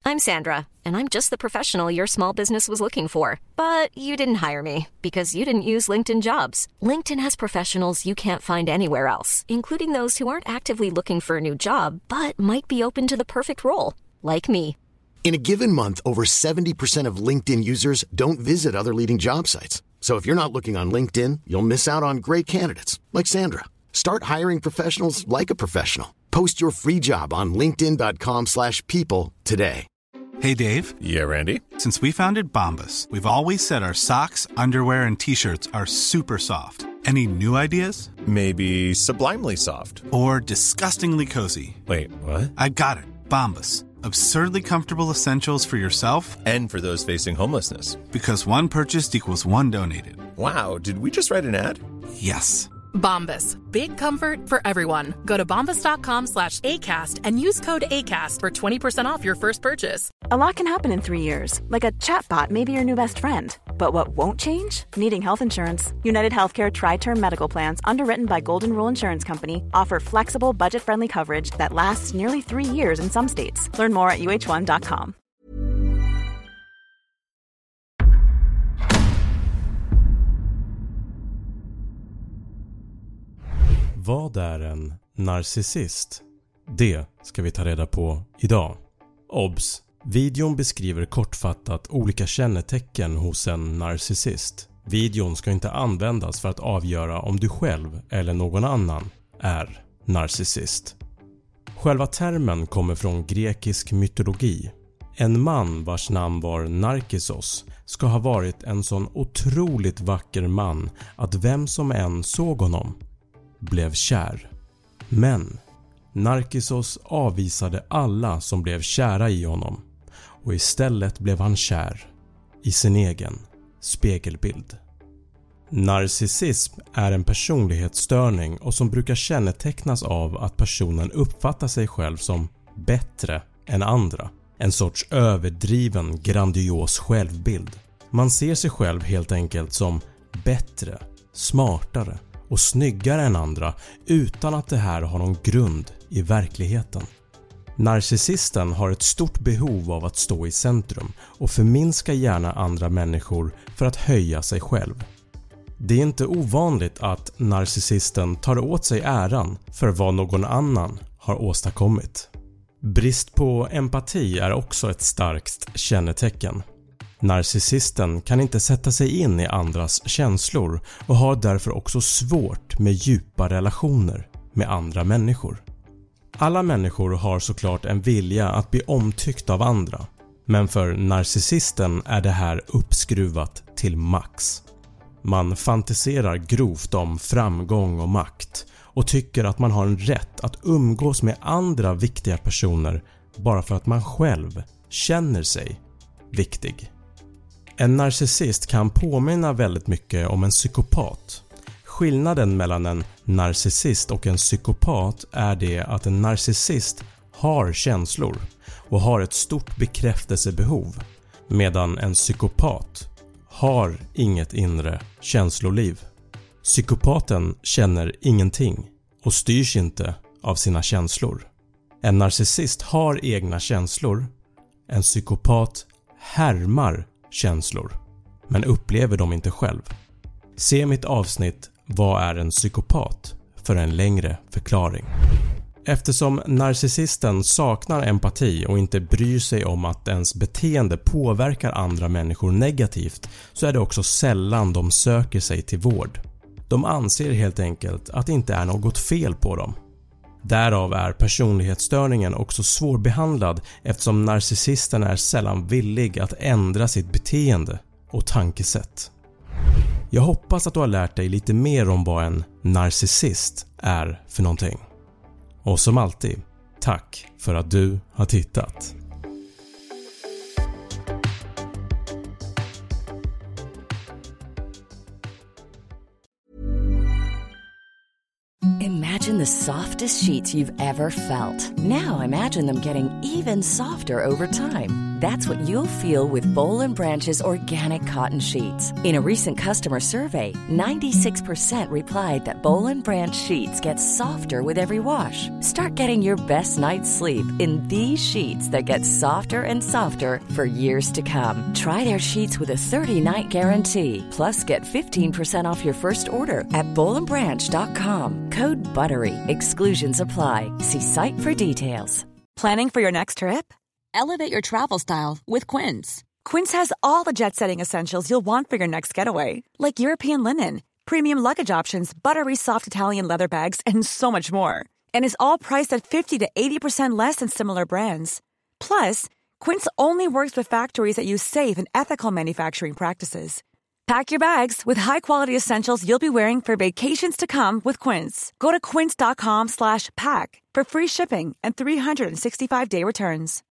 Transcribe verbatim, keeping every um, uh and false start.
I'm Sandra, and I'm just the professional your small business was looking for. But you didn't hire me because you didn't use LinkedIn Jobs. LinkedIn has professionals you can't find anywhere else, including those who aren't actively looking for a new job, but might be open to the perfect role, like me. In a given month, over seventy percent of LinkedIn users don't visit other leading job sites. So if you're not looking on LinkedIn, you'll miss out on great candidates like Sandra. Start hiring professionals like a professional. Post your free job on linkedin dot com slash people today. Hey, Dave. Yeah, Randy. Since we founded Bombas, we've always said our socks, underwear, and T-shirts are super soft. Any new ideas? Maybe sublimely soft. Or disgustingly cozy. Wait, what? I got it. Bombas. Absurdly comfortable essentials for yourself and for those facing homelessness. Because one purchased equals one donated. Wow, did we just write an ad? Yes. Bombas. Big comfort for everyone. Go to bombas dot com slash ACAST and use code ACAST for twenty percent off your first purchase. A lot can happen in three years. Like a chatbot may be your new best friend. But what won't change? Needing health insurance. United Healthcare Tri-Term Medical Plans, underwritten by Golden Rule Insurance Company, offer flexible, budget-friendly coverage that lasts nearly three years in some states. Learn more at u h one dot com. Vad är en narcissist? Det ska vi ta reda på idag. Obs! Videon beskriver kortfattat olika kännetecken hos en narcissist. Videon ska inte användas för att avgöra om du själv eller någon annan är narcissist. Själva termen kommer från grekisk mytologi. En man vars namn var Narcissos ska ha varit en sån otroligt vacker man att vem som än såg honom blev kär. Men Narcissos avvisade alla som blev kära i honom och istället blev han kär i sin egen spegelbild. Narcissism är en personlighetsstörning och som brukar kännetecknas av att personen uppfattar sig själv som bättre än andra. En sorts överdriven, grandios självbild. Man ser sig själv helt enkelt som bättre, smartare och snyggare än andra utan att det här har någon grund i verkligheten. Narcissisten har ett stort behov av att stå i centrum och förminska gärna andra människor för att höja sig själv. Det är inte ovanligt att narcissisten tar åt sig äran för vad någon annan har åstadkommit. Brist på empati är också ett starkt kännetecken. Narcissisten kan inte sätta sig in i andras känslor och har därför också svårt med djupa relationer med andra människor. Alla människor har såklart en vilja att bli omtyckt av andra, men för narcissisten är det här uppskruvat till max. Man fantiserar grovt om framgång och makt och tycker att man har en rätt att umgås med andra viktiga personer bara för att man själv känner sig viktig. En narcissist kan påminna väldigt mycket om en psykopat. Skillnaden mellan en narcissist och en psykopat är det att en narcissist har känslor och har ett stort bekräftelsebehov, medan en psykopat har inget inre känsloliv. Psykopaten känner ingenting och styrs inte av sina känslor. En narcissist har egna känslor. En psykopat härmar känslor men upplever dem inte själv. Se mitt avsnitt Vad är en psykopat för en längre förklaring. Eftersom narcissisten saknar empati och inte bryr sig om att ens beteende påverkar andra människor negativt så är det också sällan de söker sig till vård. De anser helt enkelt att det inte är något fel på dem. Därav är personlighetsstörningen också svårbehandlad eftersom narcissisten är sällan villig att ändra sitt beteende och tankesätt. Jag hoppas att du har lärt dig lite mer om vad en narcissist är för någonting. Och som alltid, tack för att du har tittat. Imagine the softest sheets you've ever felt. Now imagine them getting even softer over time. That's what you'll feel with Boll and Branch's organic cotton sheets. In a recent customer survey, ninety-six percent replied that Boll and Branch sheets get softer with every wash. Start getting your best night's sleep in these sheets that get softer and softer for years to come. Try their sheets with a thirty-night guarantee. Plus, get fifteen percent off your first order at boll and branch dot com. Code BUTTERY. Exclusions apply. See site for details. Planning for your next trip? Elevate your travel style with Quince. Quince has all the jet-setting essentials you'll want for your next getaway, like European linen, premium luggage options, buttery soft Italian leather bags, and so much more. And is all priced at fifty to eighty percent less than similar brands. Plus, Quince only works with factories that use safe and ethical manufacturing practices. Pack your bags with high-quality essentials you'll be wearing for vacations to come with Quince. Go to quince dot com slash pack for free shipping and three sixty-five day returns.